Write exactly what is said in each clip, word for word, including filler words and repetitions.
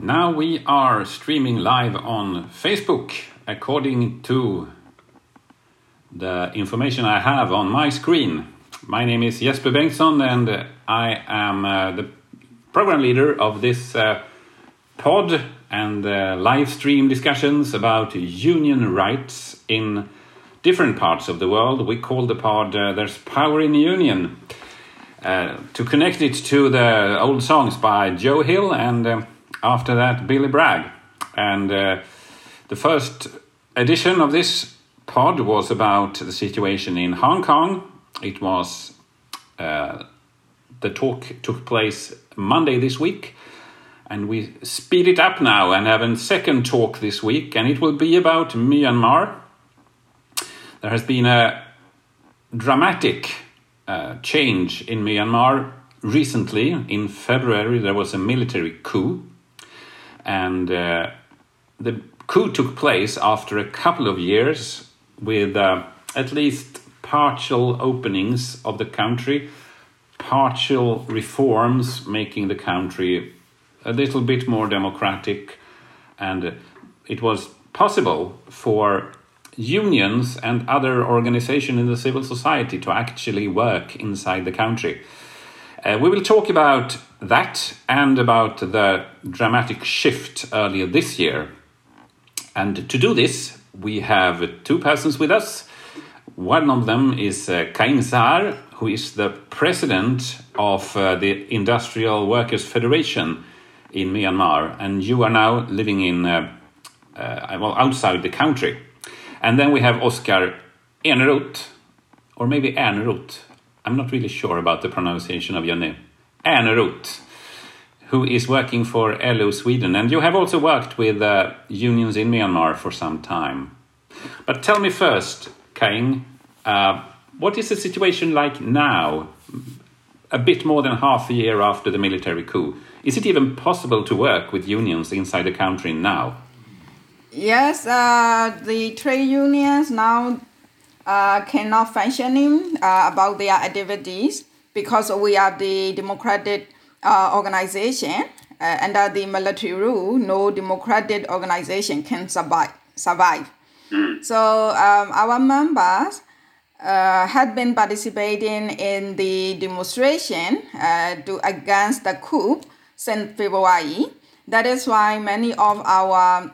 Now we are streaming live on Facebook according to the information I have on my screen. My name is Jesper Bengtsson and I am uh, the program leader of this uh, pod and uh, live stream discussions about union rights in different parts of the world. We call the pod uh, There's Power in the Union. Uh, to connect it to the old songs by Joe Hill and uh, after that Billy Bragg. And uh, the first edition of this pod was about the situation in Hong Kong. It was uh, the talk took place Monday this week, and we speed it up now and have a second talk this week, and it will be about Myanmar. There has been a dramatic uh, change in Myanmar recently. In February there was a military coup, and uh, the coup took place after a couple of years with uh, at least partial openings of the country, partial reforms making the country a little bit more democratic, and it was possible for unions and other organizations in the civil society to actually work inside the country. Uh, we will talk about that and about the dramatic shift earlier this year. And to do this, we have two persons with us. One of them is uh, Kaing Sar, who is the president of uh, the Industrial Workers Federation in Myanmar. And you are now living in, uh, uh, well, outside the country. And then we have Oskar Eneroth, or maybe Eneroth. I'm not really sure about the pronunciation of your name. Eneroth, who is working for L O Sweden. And you have also worked with uh, unions in Myanmar for some time. But tell me first, Kaing, uh, what is the situation like now, a bit more than half a year after the military coup? Is it even possible to work with unions inside the country now? Yes, uh, the trade unions now uh, cannot functioning uh, about their activities because we are the democratic uh, organization. Uh, under the military rule, no democratic organization can survive. survive. Mm. So um, our members uh, had been participating in the demonstration uh, to against the coup since February. That is why many of our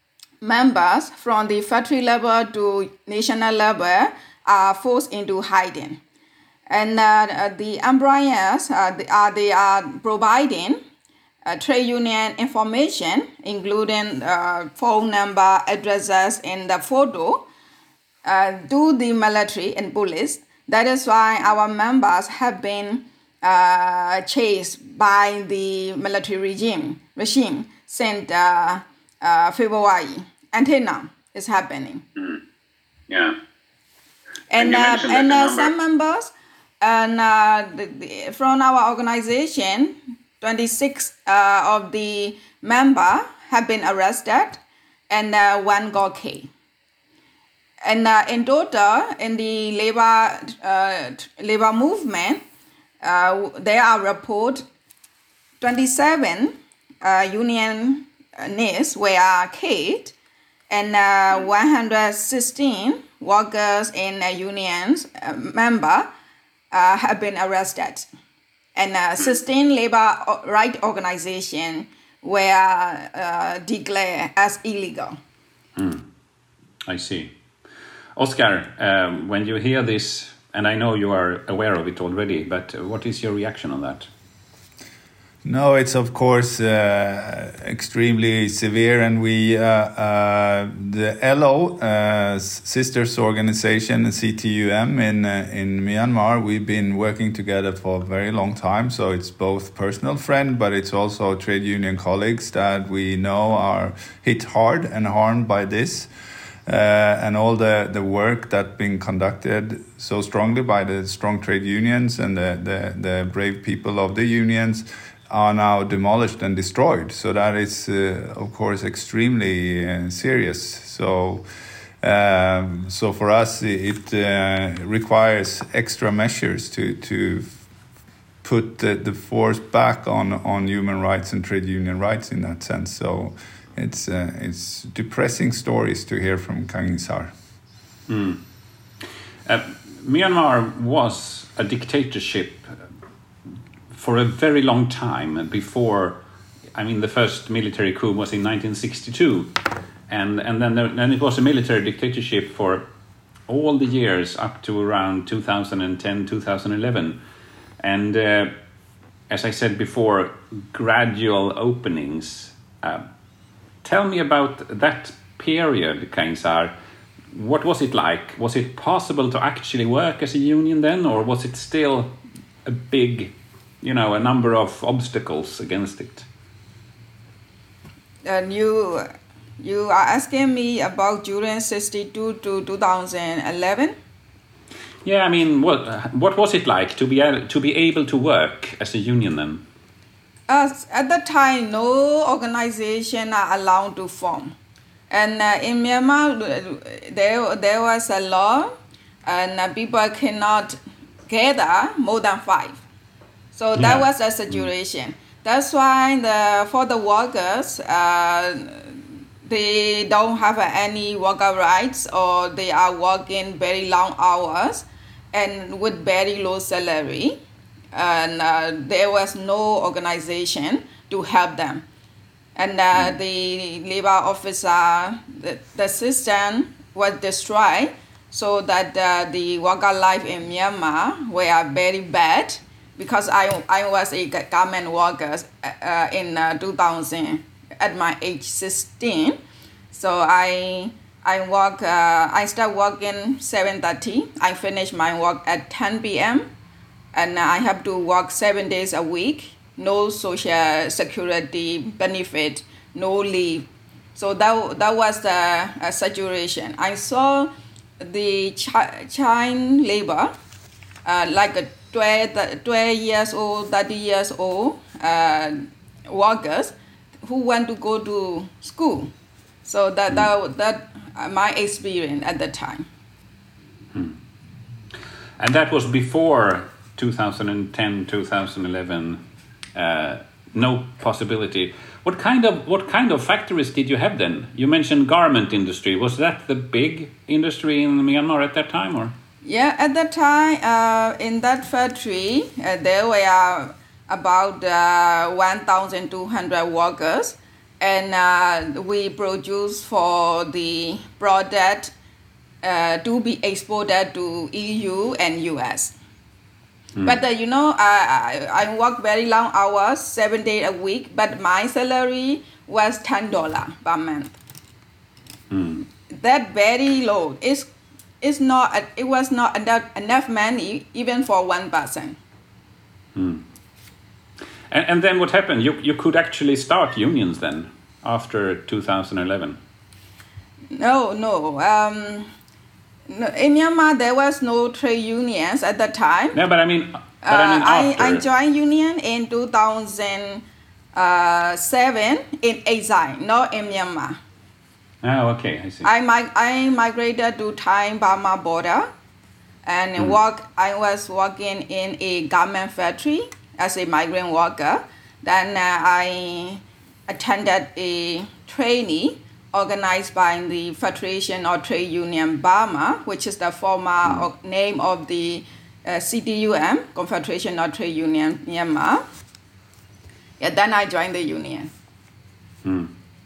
members from the factory level to national level are forced into hiding. And uh, the employers, uh, they, are, they are providing uh, trade union information, including uh, phone number, addresses, and the photo, uh, to the military and police. That is why our members have been uh, chased by the military regime, regime since uh, uh, February. Until now, it's happening. Mm. Yeah. And, and, uh, and uh, some members and uh, the, the, from our organization, twenty-six uh, of the members have been arrested and uh, one got killed. And uh, in total, in the labor uh, labor movement, uh, there are report twenty-seven uh, unionists were killed, and uh, one hundred sixteen workers in uh, unions uh, member uh, have been arrested, and uh, sixteen labor right organizations were uh, declared as illegal. Mm. I see. Oskar, um, when you hear this, and I know you are aware of it already, but what is your reaction on that? No, it's of course uh, extremely severe, and we, uh, uh, the L O, uh, sisters organization, C T U M in uh, in Myanmar, we've been working together for a very long time. So it's both personal friend, but it's also trade union colleagues that we know are hit hard and harmed by this. Uh, and all the, the work that's been conducted so strongly by the strong trade unions and the, the, the brave people of the unions are now demolished and destroyed. So that is, uh, of course, extremely uh, serious. So, um, so for us, it uh, requires extra measures to to put the, the force back on, on human rights and trade union rights in that sense. So it's uh, it's depressing stories to hear from Kangin Sar. Mm. Uh, Myanmar was a dictatorship for a very long time before. I mean, the first military coup was in nineteen sixty-two, and and then there, then it was a military dictatorship for all the years up to around two thousand ten, two thousand eleven, and uh, as I said before, gradual openings. Uh, tell me about that period, Kangin Sar. What was it like? Was it possible to actually work as a union then, or was it still a big, you know, a number of obstacles against it? And you, you are asking me about during sixty-two to two thousand eleven? Yeah, I mean, what what was it like to be able, to be able to work as a union then? Uh, at that time, no organization are allowed to form. And uh, in Myanmar, there, there was a law, and uh, people cannot gather more than five. So that Yeah. was the situation. That's why the, for the workers, uh, they don't have any worker rights, or they are working very long hours and with very low salary. And uh, there was no organization to help them. And uh, the labor officer, the, the system was destroyed, so that uh, the worker life in Myanmar were very bad, because I, I was a government worker uh, in uh, two thousand at my age sixteen. So I I work uh, I start working seven thirty. I finish my work at ten p.m. and I have to work seven days a week. No social security benefit, no leave. So that that was the uh, situation. I saw the chi- child labor, uh, like a twelve, twelve years old, thirty years old uh, workers who want to go to school. So that that that uh, my experience at the time. Hmm. And that was before two thousand ten, two thousand eleven. Uh, no possibility. What kind of what kind of factories did you have then? You mentioned garment industry. Was that the big industry in Myanmar at that time, or? Yeah, at that time, uh, in that factory, uh, there were about uh, one thousand two hundred workers, and uh, we produce for the product uh, to be exported to E U and U S. Mm. But uh, you know, I, I I work very long hours, seven days a week, but my salary was ten dollars per month. Mm. That very low. It's it's not. It was not enough, enough money even for one person. Mm. And and then what happened? You you could actually start unions then after two thousand eleven. No, no. Um, No, in Myanmar, there was no trade unions at that time. No, but I mean, but I mean uh, after. I, I joined union in two thousand seven in exile, not in Myanmar. Oh, okay, I see. I, mig- I migrated to Thai-Burma border, and mm. work. I was working in a garment factory as a migrant worker. Then uh, I attended a trainee organized by the Federation of Trade Union Burma, which is the former mm. name of the uh, C T U M, Confederation of Trade Union Myanmar. Yeah, then I joined the union. Mm.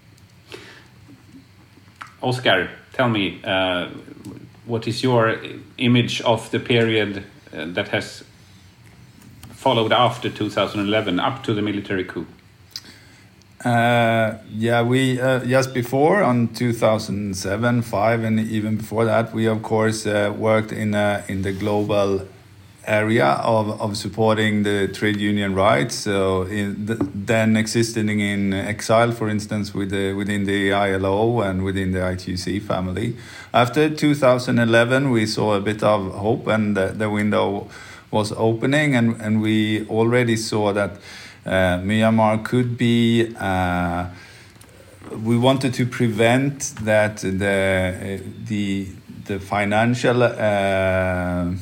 Oscar, tell me, uh, what is your image of the period uh, that has followed after two thousand eleven, up to the military coup? Uh, yeah, we uh, just before on two thousand seven, five, and even before that, we of course uh, worked in uh, in the global area of, of supporting the trade union rights. So in the, then existing in exile, for instance, with the, within the I L O and within the I T U C family. After two thousand eleven, we saw a bit of hope, and the, the window was opening, and, and we already saw that Uh, Myanmar could be. Uh, we wanted to prevent that the uh, the the financial uh,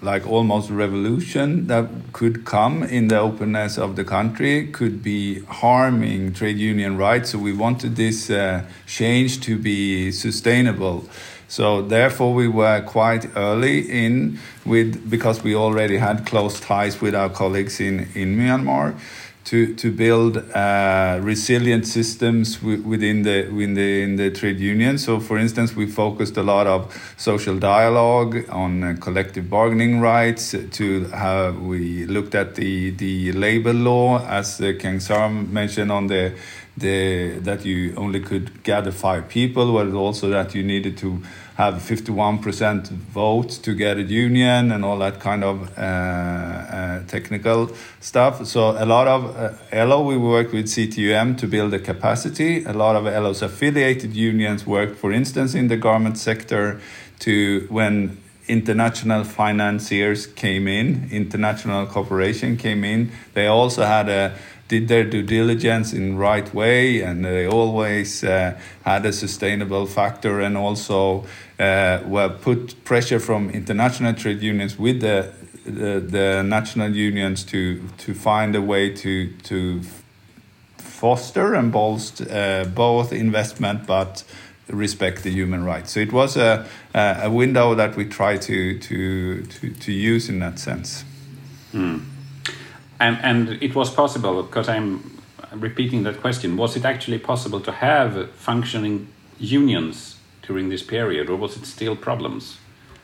like almost revolution that could come in the openness of the country could be harming trade union rights. So we wanted this uh, change to be sustainable. So therefore we were quite early in with, because we already had close ties with our colleagues in, in Myanmar, to to build uh, resilient systems w- within the within the in the trade union. So, for instance, we focused a lot of social dialogue on uh, collective bargaining rights. To how we looked at the the labor law, as uh, Keng Sarm mentioned, on the the that you only could gather five people, but also that you needed to have fifty-one percent vote to get a union and all that kind of uh, uh, technical stuff. So a lot of uh, L O, we worked with C T U M to build the capacity. A lot of L O's affiliated unions worked, for instance, in the garment sector to when international financiers came in, international cooperation came in. They also had a did their due diligence in right way, and they always uh, had a sustainable factor, and also uh, were put pressure from international trade unions with the the, the national unions to to find a way to to foster and bolster uh, both investment but respect the human rights. So it was a a window that we try to to to, to use in that sense. Mm. And, and it was possible, because I'm repeating that question, was it actually possible to have functioning unions during this period, or was it still problems?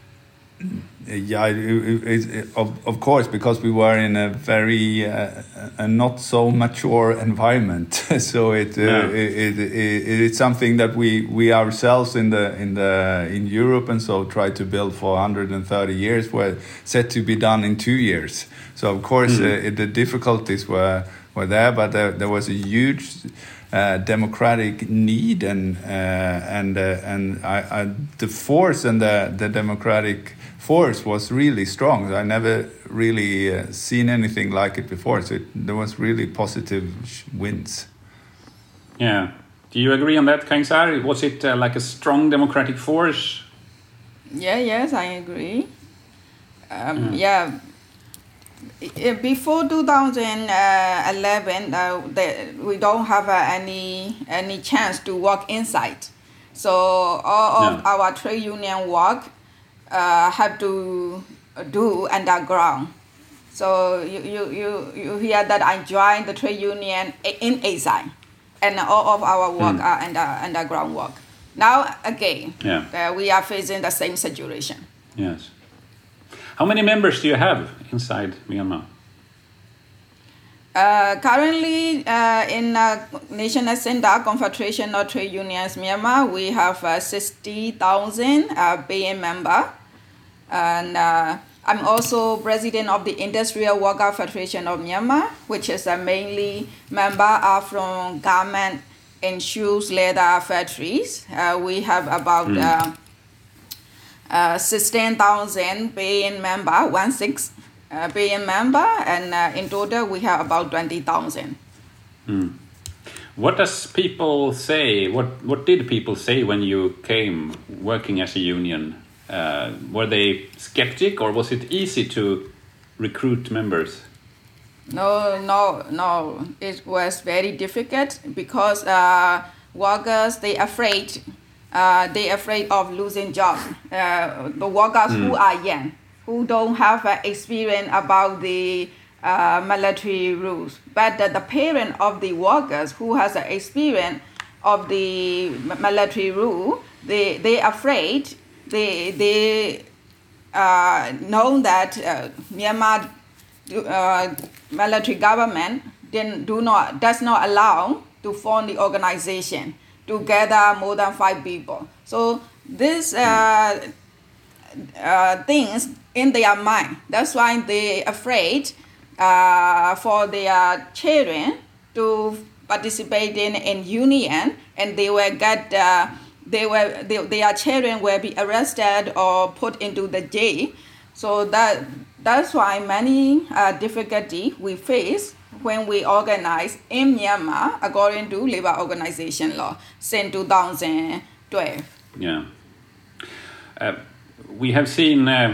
Yeah, it, it, it, of, of course, because we were in a very uh, a not so mature environment. So it, uh, yeah. it, it, it it's something that we, we ourselves in the in the in Europe and so tried to build for one hundred thirty years, were set to be done in two years. So of course mm. uh, the difficulties were were there, but there, there was a huge Uh, democratic need, and uh, and uh, and I, I, the force and the, the democratic force was really strong. I never really uh, seen anything like it before. So it, there was really positive wins. Yeah. Do you agree on that, Keng Sar? Was it uh, like a strong democratic force? Yeah. Yes, I agree. Um, mm. Yeah. Before two thousand eleven, uh, the, we don't have uh, any any chance to work inside. So all of no. our trade union work uh, have to do underground. So you, you, you, you hear that I joined the trade union in A S I, and all of our work mm. are under, underground work. Now again, yeah. uh, we are facing the same situation. Yes. How many members do you have inside Myanmar? Uh, currently, uh, in uh, National Center Confederation of Trade Unions Myanmar, we have uh, sixty thousand uh, paying members. And uh, I'm also president of the Industrial Worker Federation of Myanmar, which is uh, mainly members are from garment and shoes leather factories. Uh, we have about mm. uh, Uh, sixteen thousand paying member, one six uh, paying member, and uh, in total we have about twenty thousand. Mm. What does people say? What What did people say when you came working as a union? Uh, were they skeptic, or was it easy to recruit members? No, no, no. It was very difficult because uh, workers they afraid. Uh, they're afraid of losing jobs. Uh, the workers mm. who are young, who don't have uh, experience about the uh, military rules. But uh, the parent of the workers who has uh, experience of the military rule, they they afraid. They they uh, know that uh, Myanmar uh, military government didn't, do not does not allow to form the organization to gather more than five people. So these uh, uh, things in their mind. That's why they afraid uh, for their children to participate in, in union, and they will get uh, they will they, their children will be arrested or put into the jail. So that that's why many uh, difficulty we face when we organize in Myanmar according to labor organization law since two thousand twelve. Yeah. Uh, we have seen uh,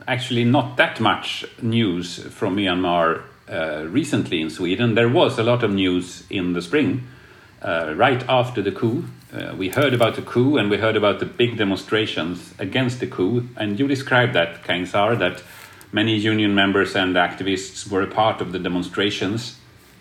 actually not that much news from Myanmar uh, recently in Sweden. There was a lot of news in the spring, uh, right after the coup. Uh, we heard about the coup and we heard about the big demonstrations against the coup. And you described that, Khaing Sar, that many union members and activists were a part of the demonstrations.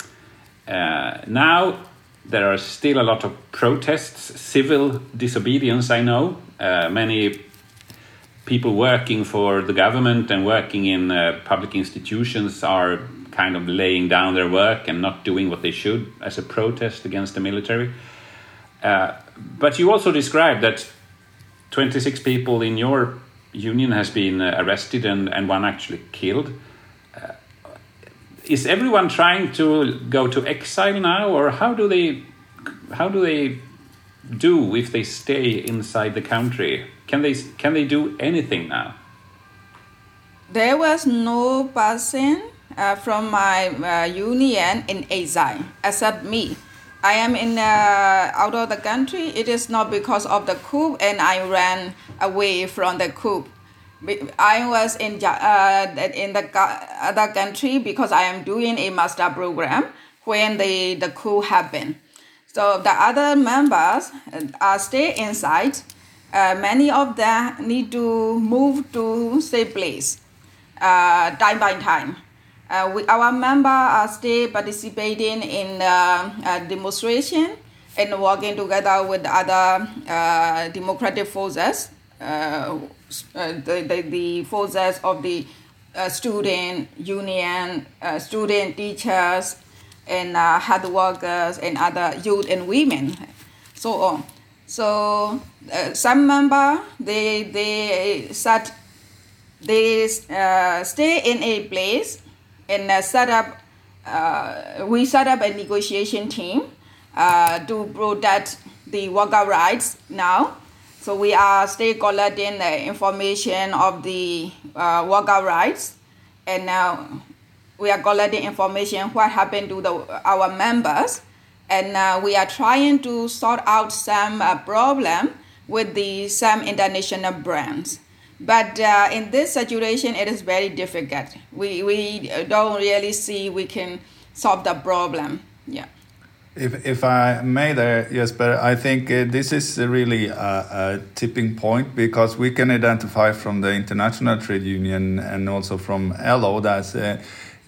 Uh, now there are still a lot of protests, civil disobedience, I know. Uh, many people working for the government and working in uh, public institutions are kind of laying down their work and not doing what they should as a protest against the military. Uh, but you also described that twenty-six people in your union has been uh, arrested and, and one actually killed. Uh, is everyone trying to go to exile now, or how do they how do they do if they stay inside the country? Can they can they do anything now? There was no person uh, from my uh, union in exile except me. I am in uh, out of the country. It is not because of the coup, and I ran away from the coup. I was in uh, in the other country because I am doing a master program when the, the coup happened. So the other members are stay inside. Uh, many of them need to move to safe place uh, time by time. Uh, we, our members are still participating in uh, uh, demonstration and working together with other uh, democratic forces, uh, uh, the, the, the forces of the uh, student union, uh, student teachers, and uh, hard workers, and other youth and women, so on. So uh, some members, they, they, start, they uh, stay in a place and uh, set up, uh, we set up a negotiation team uh, to protect the worker rights now. So we are still collecting the information of the uh, worker rights, and now we are collecting information what happened to the, our members, and uh, we are trying to sort out some uh, problem with the some international brands. But uh, in this situation, it is very difficult. We we don't really see we can solve the problem. Yeah. If if I may there, Jesper, I think uh, this is really a, a tipping point, because we can identify from the International Trade Union and also from L O that uh,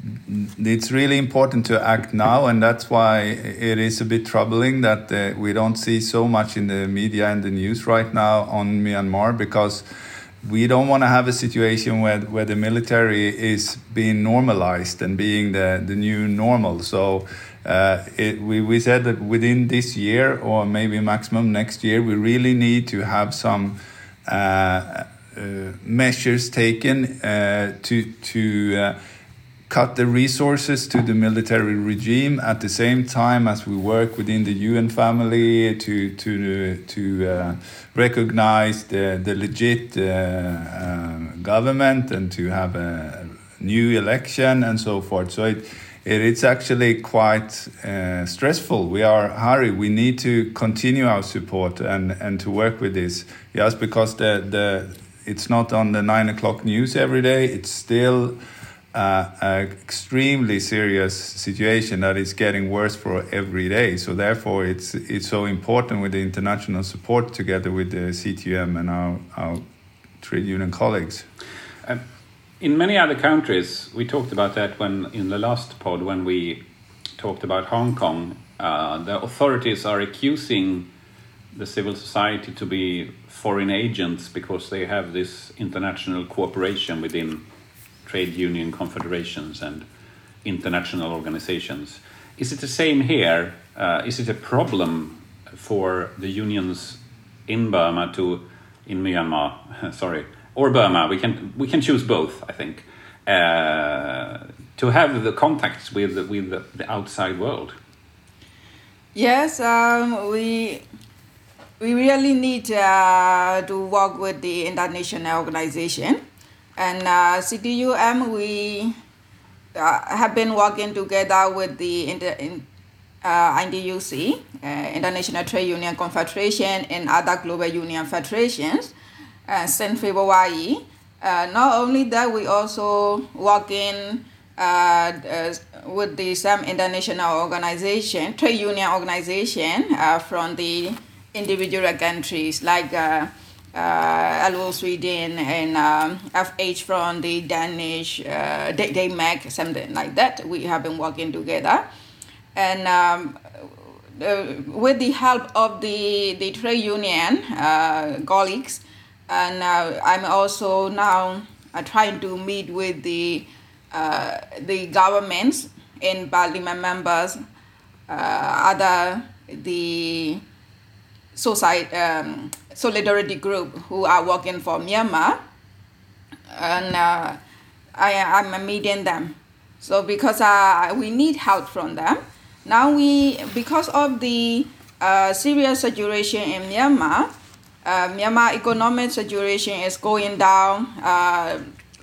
it's really important to act now, and that's why it is a bit troubling that uh, we don't see so much in the media and the news right now on Myanmar, because we don't want to have a situation where where the military is being normalized and being the, the new normal. So uh, it, we, we said that within this year, or maybe maximum next year, we really need to have some uh, uh, measures taken uh, to to uh, cut the resources to the military regime at the same time as we work within the U N family to to to uh, recognize the the legit uh, uh, government and to have a new election and so forth. So it, it it's actually quite uh, stressful. We are hurry. We need to continue our support and and to work with this. Yes, because the the it's not on the nine o'clock news every day. It's still Uh, an extremely serious situation that is getting worse for every day. So therefore, it's it's so important with the international support together with the C T U M and our, our trade union colleagues. Uh, in many other countries, we talked about that when in the last pod when we talked about Hong Kong. Uh, the authorities are accusing the civil society to be foreign agents because they have this international cooperation within trade union confederations and international organizations. Is it the same here? Uh, is it a problem for the unions in Burma to, in Myanmar, sorry, or Burma? We can we can choose both, I think, uh, to have the contacts with with the, the outside world. Yes, um, we we really need uh, to work with the international organization. And uh, C T U M, we uh, have been working together with the inter, in, uh, I N D U C, uh, International Trade Union Confederation, and other global union federations uh, since February. Uh, not only that, we also work in uh, uh, with the some international organization, trade union organization uh, from the individual countries like uh, uh, L O Sweden and um, F H from the Danish, uh, Denmark, something like that. We have been working together. And um, uh, with the help of the, the trade union uh, colleagues, and uh, I'm also now uh, trying to meet with the uh, the governments and parliament members, uh, other the society um, solidarity group who are working for Myanmar, and uh, I I'm meeting them. So because uh, we need help from them. Now we, because of the uh, serious situation in Myanmar, uh, Myanmar economic situation is going down. Uh,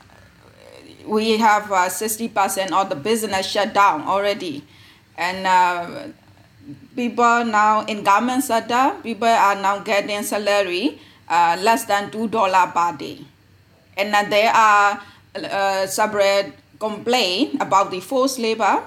we have uh, sixty percent of the business shut down already. And uh, people now in government sector, people are now getting salary uh, less than two dollars per day. And uh, there are uh, separate complaints about the forced labor.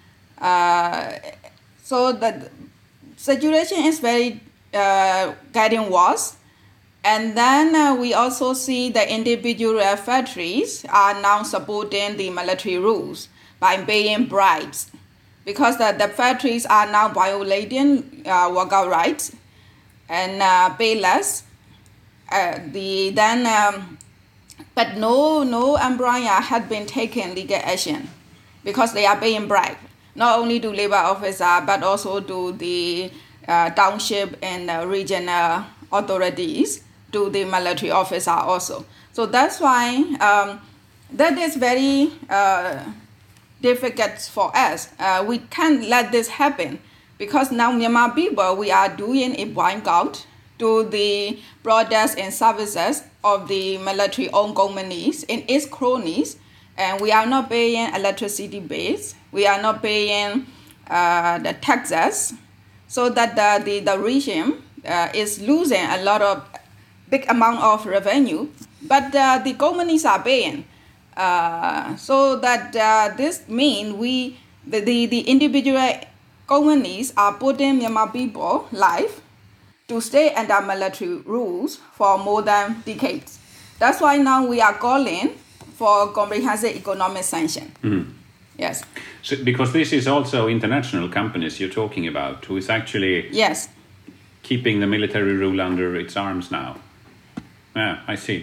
Uh, so the situation is very uh, getting worse. And then uh, we also see the individual factories are now supporting the military rules by paying bribes, because the, the factories are now violating uh, worker rights and uh, pay less. Uh, the then, um, but no no employer had been taking legal action because they are paying bribe, not only to labor officer but also to the uh, township and uh, regional authorities, to the military officer also. So that's why um, that is very uh, difficult for us. Uh, we can't let this happen, because now Myanmar people, we are doing a boycott to the products and services of the military-owned companies in its cronies, and we are not paying electricity bills. We are not paying uh, the taxes, so that the, the, the regime uh, is losing a lot of big amount of revenue, but uh, the companies are paying. Uh, so that uh, this means we, the, the, the individual companies are putting Myanmar people life to stay under military rules for more than decades. That's why now we are calling for comprehensive economic sanction. Mm. Yes. So, because this is also international companies you're talking about, who is actually yes. keeping the military rule under its arms now. Yeah, I see.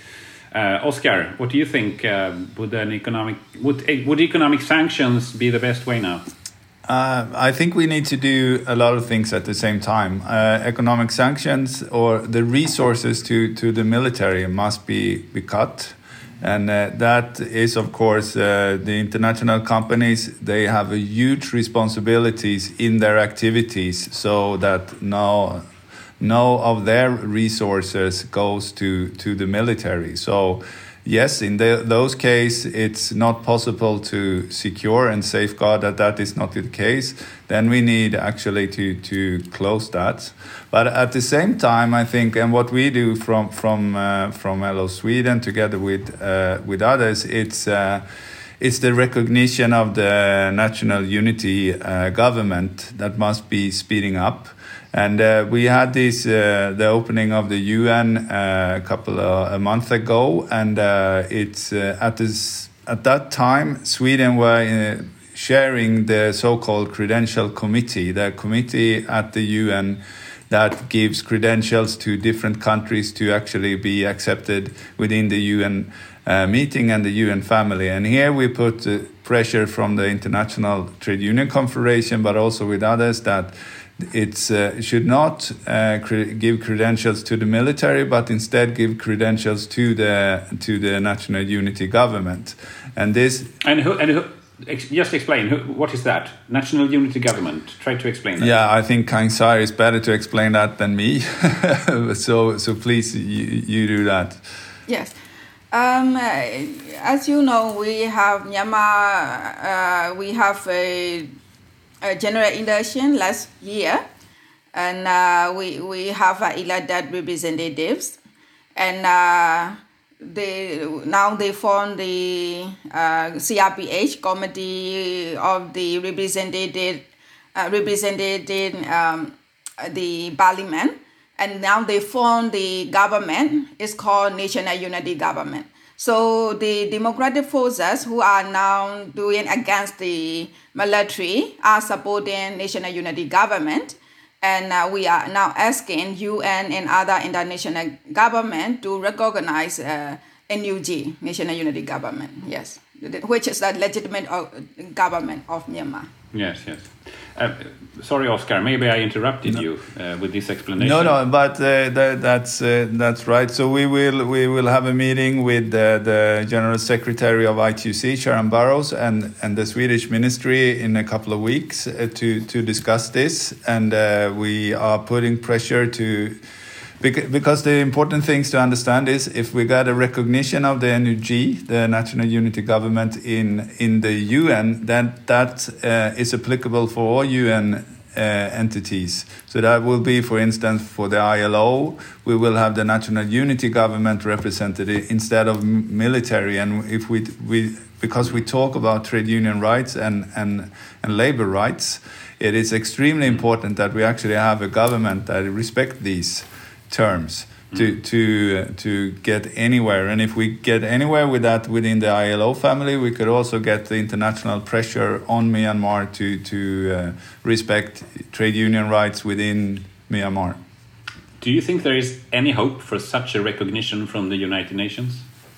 Uh, Oscar, what do you think? Uh, would an economic would would economic sanctions be the best way now? Uh, I think we need to do a lot of things at the same time. Uh, economic sanctions, or the resources to, to the military, must be, be cut. And uh, that is, of course, uh, the international companies, they have a huge responsibilities in their activities, so that no, no of their resources goes to, to the military. So yes, in the, those cases, it's not possible to secure and safeguard that that is not the case. Then we need actually to, to close that. But at the same time, I think, and what we do from from uh, from L O Sweden together with uh, with others, it's uh, it's the recognition of the national unity uh, government that must be speeding up. And uh, we had this uh, the opening of the U N uh, a couple of, a month ago, and uh, it's uh, at this at that time Sweden were uh, sharing the so-called credential committee, the committee at the U N that gives credentials to different countries to actually be accepted within the U N uh, meeting and the U N family. And here we put uh, pressure from the International Trade Union Confederation, but also with others, that it uh, should not uh, cre- give credentials to the military, but instead give credentials to the to the national unity government. And this and who and who ex- just explain who, what is that national unity government? Try to explain that. Yeah, I think Kang Sar is better to explain that than me. so so please you, you do that. Yes. Um, as you know, we have Myanmar. Uh, we have a a general election last year, and uh, we we have uh, elected representatives, and uh, they now they form the uh, C R P H, Committee of the Representative, uh, represented um, the Parliament, and now they form the government. It's called National Unity Government. So the democratic forces who are now doing against the military are supporting National Unity Government. And uh, we are now asking U N and other international government to recognize uh, N U G, National Unity Government, yes, which is the legitimate government of Myanmar. Yes, yes. Uh, sorry, Oscar, maybe I interrupted no. you uh, with this explanation. No, no, but uh, that, that's uh, that's right. So we will we will have a meeting with uh, the General Secretary of I T U C, Sharon Burrows, and, and the Swedish Ministry in a couple of weeks uh, to to discuss this, and uh, we are putting pressure to. Because the important things to understand is if we got a recognition of the N U G, the National Unity Government in in the U N, then that uh, is applicable for all U N uh, entities. So that will be, for instance, for the I L O, we will have the National Unity Government represented instead of military. And if we we because we talk about trade union rights and and and labor rights, it is extremely important that we actually have a government that respect these terms to mm. to uh, to get anywhere. And if we get anywhere with that within the I L O family, we could also get the international pressure on Myanmar to to uh, respect trade union rights within Myanmar. Do you think there is any hope for such a recognition from the United Nations?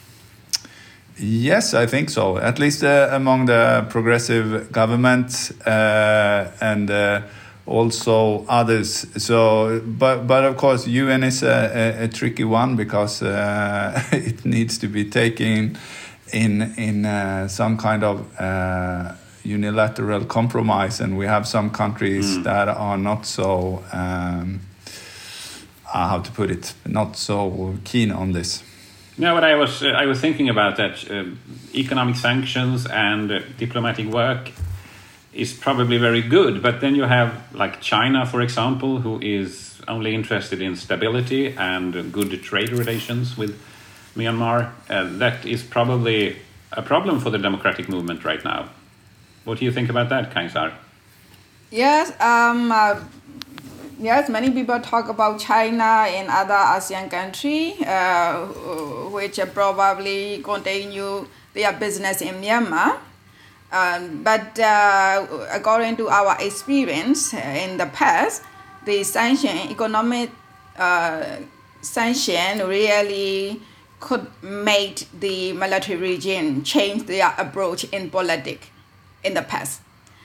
Yes, I think so. At least uh, among the progressive governments uh, and uh, also others. So, but but of course, U N is a, a, a tricky one because uh, it needs to be taken in in uh, some kind of uh, unilateral compromise, and we have some countries mm. that are not so um, uh, how to put it, not so keen on this. No, but I was uh, I was thinking about that. Uh, economic sanctions and uh, diplomatic work is probably very good, but then you have like China, for example, who is only interested in stability and good trade relations with Myanmar. Uh, that is probably a problem for the democratic movement right now. What do you think about that, Khaing Sar? Yes, um, uh, yes, many people talk about China and other ASEAN countries, uh, which probably continue their business in Myanmar. Um, but uh, according to our experience in the past, the sanction, economic uh, sanction really could make the military regime change their approach in politics in the past.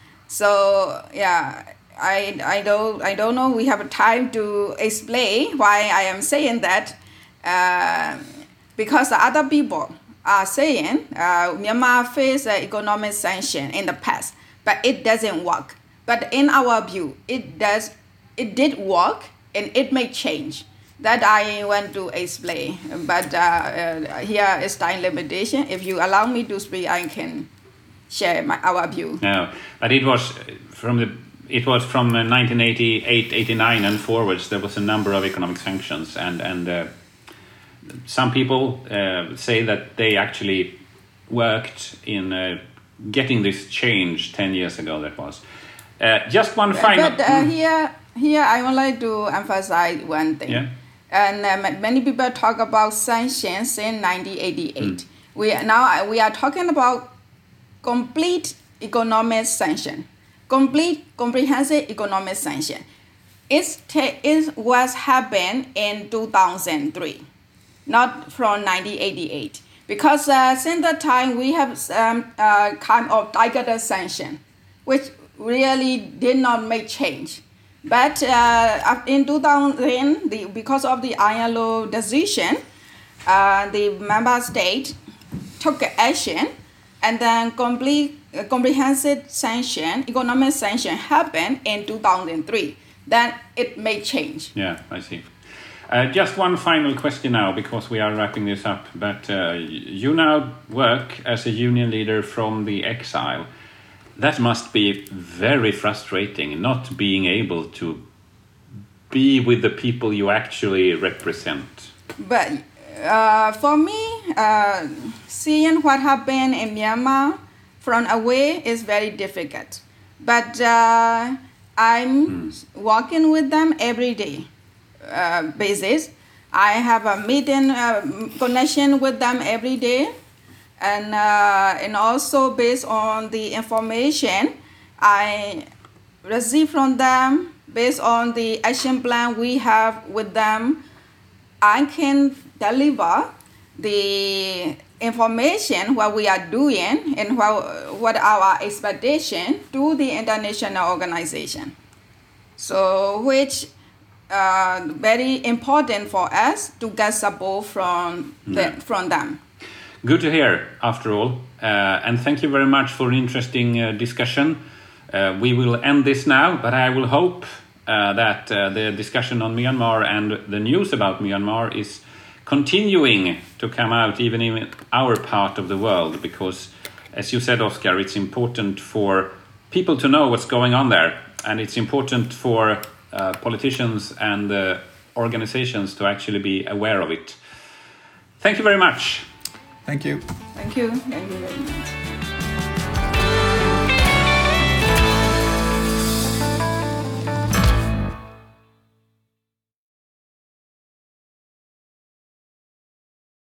So yeah, I, I, don't, I don't know we have time to explain why I am saying that, uh, because the other people are saying uh, Myanmar faced uh, economic sanction in the past, but it doesn't work. But in our view, it does, it did work, and it may change. That I want to explain. But uh, uh, here is time limitation. If you allow me to speak, I can share my, our view. No, but it was from the it was from nineteen eighty-eight, eighty-nine and forwards. There was a number of economic sanctions, and and. Uh, Some people uh, say that they actually worked in uh, getting this change ten years ago. That was uh, just one final. But uh, here, here I would like to emphasize one thing. Yeah. And um, many people talk about sanctions in nineteen eighty-eight. Mm. We now we are talking about complete economic sanction, complete comprehensive economic sanction. It's it was happened in two thousand three. Not from nineteen eighty-eight, because uh, since that time we have um, uh, kind of targeted sanction, which really did not make change. But uh, in two thousand, the, because of the I L O decision, uh, the member state took action, and then complete uh, comprehensive sanction, economic sanction happened in two thousand three. Then it made change. Yeah, I see. Uh, just one final question now, because we are wrapping this up. But uh, you now work as a union leader from the exile. That must be very frustrating, not being able to be with the people you actually represent. But uh, for me, uh, seeing what happened in Myanmar from away is very difficult. But uh, I'm mm. working with them every day uh, basis. I have a meeting uh, connection with them every day. And, uh, and also based on the information I receive from them, based on the action plan we have with them, I can deliver the information what we are doing and what, what our expectation to the international organization. So which uh, very important for us to get support from, the, yeah. from them. Good to hear, after all. Uh, and thank you very much for an interesting uh, discussion. Uh, we will end this now, but I will hope uh, that uh, the discussion on Myanmar and the news about Myanmar is continuing to come out even in our part of the world, because, as you said, Oscar, it's important for people to know what's going on there, and it's important for uh, politicians and uh, organizations to actually be aware of it. Thank you very much. Thank you. Thank you. Thank you very much.